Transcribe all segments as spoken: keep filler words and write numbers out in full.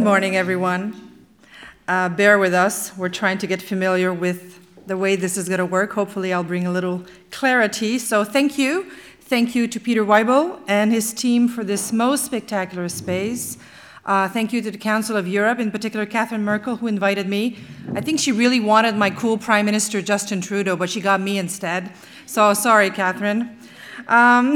morning, everyone. Uh, bear with us. We're trying to get familiar with the way this is going to work. Hopefully, I'll bring a little clarity. So thank you. Thank you to Peter Weibel and his team for this most spectacular space. Uh, thank you to the Council of Europe, in particular Catherine Merkel, who invited me. I think she really wanted my cool Prime Minister Justin Trudeau, but she got me instead. So sorry, Catherine. Um,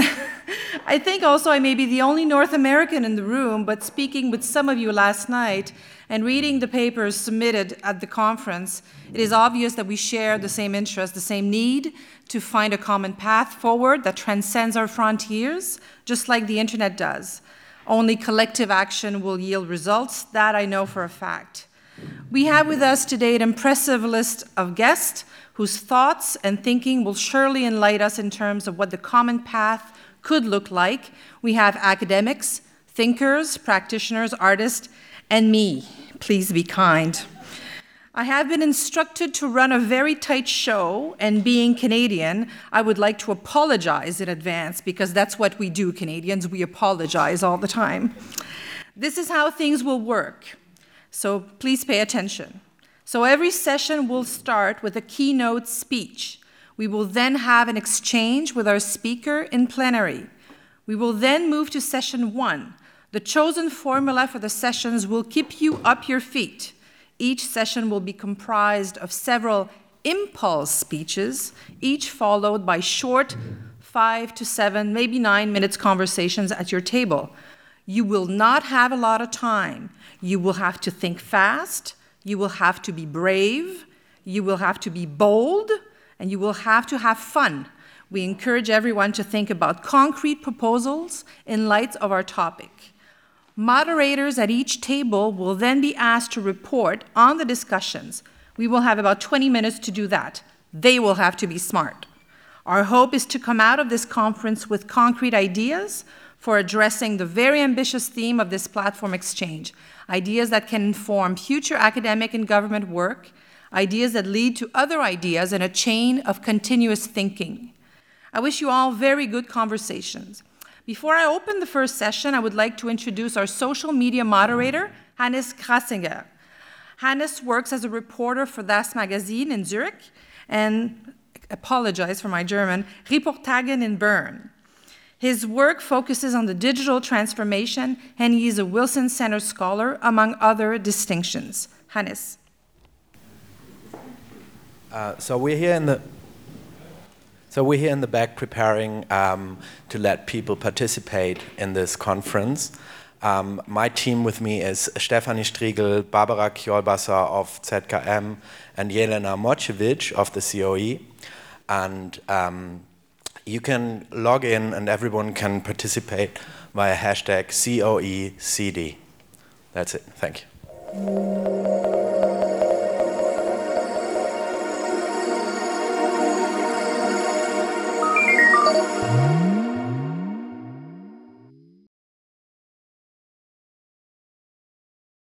I think also I may be the only North American in the room, but speaking with some of you last night and reading the papers submitted at the conference, it is obvious that we share the same interest, the same need to find a common path forward that transcends our frontiers, just like the internet does. Only collective action will yield results, that I know for a fact. We have with us today an impressive list of guests whose thoughts and thinking will surely enlighten us in terms of what the common path could look like. We have academics, thinkers, practitioners, artists, and me. Please be kind. I have been instructed to run a very tight show, and being Canadian, I would like to apologize in advance because that's what we do, Canadians. We apologize all the time. This is how things will work, so please pay attention. So every session will start with a keynote speech. We will then have an exchange with our speaker in plenary. We will then move to session one. The chosen formula for the sessions will keep you up your feet. Each session will be comprised of several impulse speeches, each followed by short five to seven, maybe nine minutes conversations at your table. You will not have a lot of time. You will have to think fast. You will have to be brave, you will have to be bold, and you will have to have fun. We encourage everyone to think about concrete proposals in light of our topic. Moderators at each table will then be asked to report on the discussions. We will have about twenty minutes to do that. They will have to be smart. Our hope is to come out of this conference with concrete ideas for addressing the very ambitious theme of this platform exchange. Ideas that can inform future academic and government work, ideas that lead to other ideas in a chain of continuous thinking. I wish you all very good conversations. Before I open the first session, I would like to introduce our social media moderator, Hannes Krasinger. Hannes works as a reporter for Das Magazin in Zurich and, apologize for my German, Reportagen in Bern. His work focuses on the digital transformation, and he is a Wilson Center Scholar, among other distinctions. Hannes. Uh, so we're here in the so we're here in the back preparing um, to let people participate in this conference. Um, my team with me is Stefanie Striegel, Barbara Kjolbasser of Z K M, and Jelena Mocevic of the C O E, and um, you can log in and everyone can participate via hashtag C O E C D. That's it. Thank you.